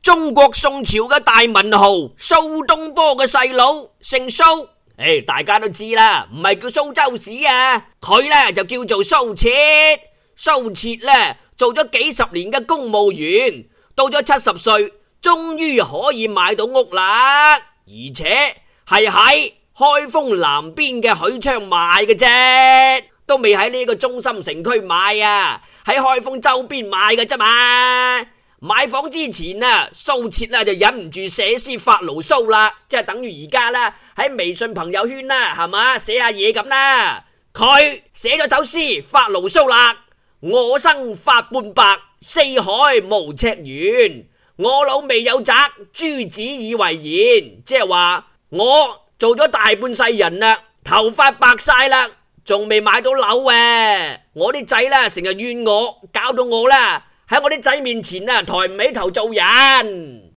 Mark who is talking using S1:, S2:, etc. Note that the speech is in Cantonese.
S1: 中國宋朝嘅大文豪蘇東坡嘅細佬，姓蘇。大家都知啦，唔係叫蘇州市啊，佢呢就叫做蘇轍。蘇轍呢做咗幾十年嘅公務員，到咗70歲，終於可以買到屋啦，而且係喺開封南邊嘅許昌買嘅啫，都未喺呢個中心城區買啊，喺開封周邊買嘅啫嘛。買房之前啊，蘇轍就忍唔住寫詩發牢騷啦，即係等於而家啦，喺微信朋友圈啦，係嘛，寫下嘢咁啦。佢寫咗首詩發牢騷啦：我生髮半白，四海無尺圓，我老未有宅，諸子以為賢。即係話我做咗大半世人啦，頭髮白晒啦，仲未買到樓啊！我啲仔啦成日怨我，搞到我啦喺我啲仔面前啊抬唔起頭做人。